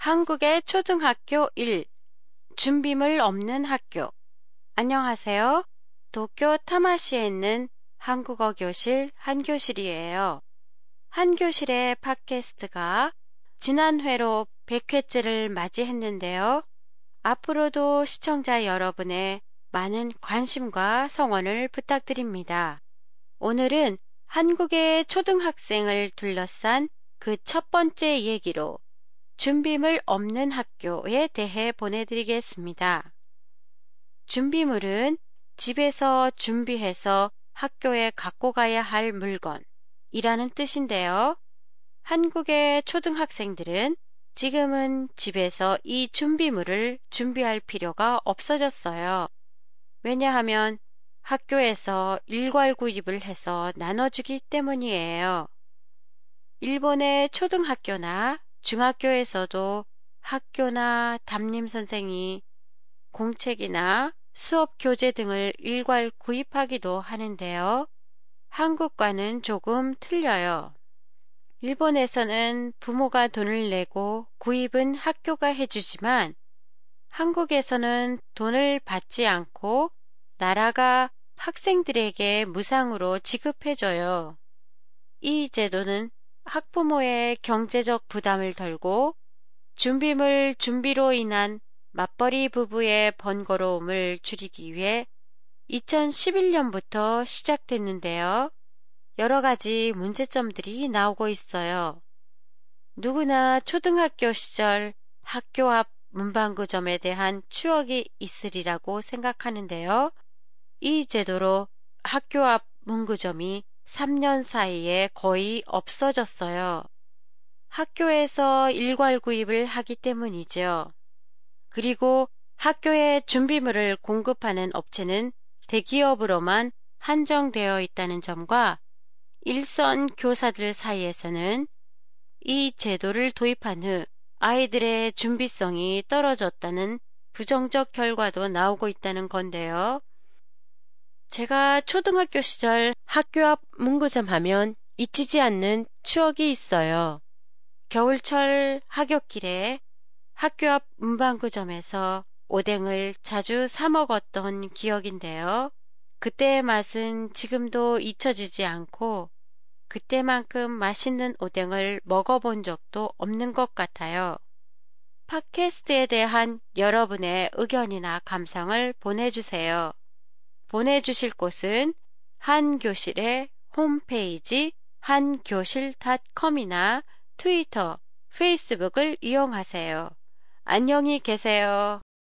한국의 초등학교 1. 준비물 없는 학교. 안녕하세요. 도쿄 타마시에 있는 한국어 교실 한교실이에요. 한교실의 팟캐스트가 지난 회로 100회째를 맞이했는데요. 앞으로도 시청자 여러분의 많은 관심과 성원을 부탁드립니다. 오늘은 한국의 초등학생을 둘러싼 그 첫 번째 얘기로 준비물 없는 학교에 대해 보내드리겠습니다. 준비물은 집에서 준비해서 학교에 갖고 가야 할 물건이라는 뜻인데요. 한국의 초등학생들은 지금은 집에서 이 준비물을 준비할 필요가 없어졌어요. 왜냐하면 학교에서 일괄 구입을 해서 나눠주기 때문이에요. 일본의 초등학교나 중학교에서도 학교나 담임 선생이 공책이나 수업 교재 등을 일괄 구입하기도 하는데요. 한국과는 조금 틀려요. 일본에서는 부모가 돈을 내고 구입은 학교가 해주지만 한국에서는 돈을 받지 않고 나라가 학생들에게 무상으로 지급해줘요. 이 제도는 학부모의 경제적 부담을 덜고 준비물 준비로 인한 맞벌이 부부의 번거로움을 줄이기 위해 2011년부터 시작됐는데요. 여러 가지 문제점들이 나오고 있어요. 누구나 초등학교 시절 학교 앞 문방구점에 대한 추억이 있으리라고 생각하는데요. 이 제도로 학교 앞 문구점이 3년 사이에 거의 없어졌어요. 학교에서 일괄 구입을 하기 때문이죠. 그리고 학교에 준비물을 공급하는 업체는 대기업으로만 한정되어 있다는 점과 일선 교사들 사이에서는 이 제도를 도입한 후 아이들의 준비성이 떨어졌다는 부정적 결과도 나오고 있다는 건데요. 제가 초등학교 시절 학교 앞 문구점 하면 잊히지 않는 추억이 있어요. 겨울철 하굣길에 학교 앞 문방구점에서 오뎅을 자주 사 먹었던 기억인데요. 그때의 맛은 지금도 잊혀지지 않고 그때만큼 맛있는 오뎅을 먹어본 적도 없는 것 같아요. 팟캐스트에 대한 여러분의 의견이나 감상을 보내주세요. 보내주실 곳은 한교실의 홈페이지 한교실.com이나 트위터, 페이스북을 이용하세요. 안녕히 계세요.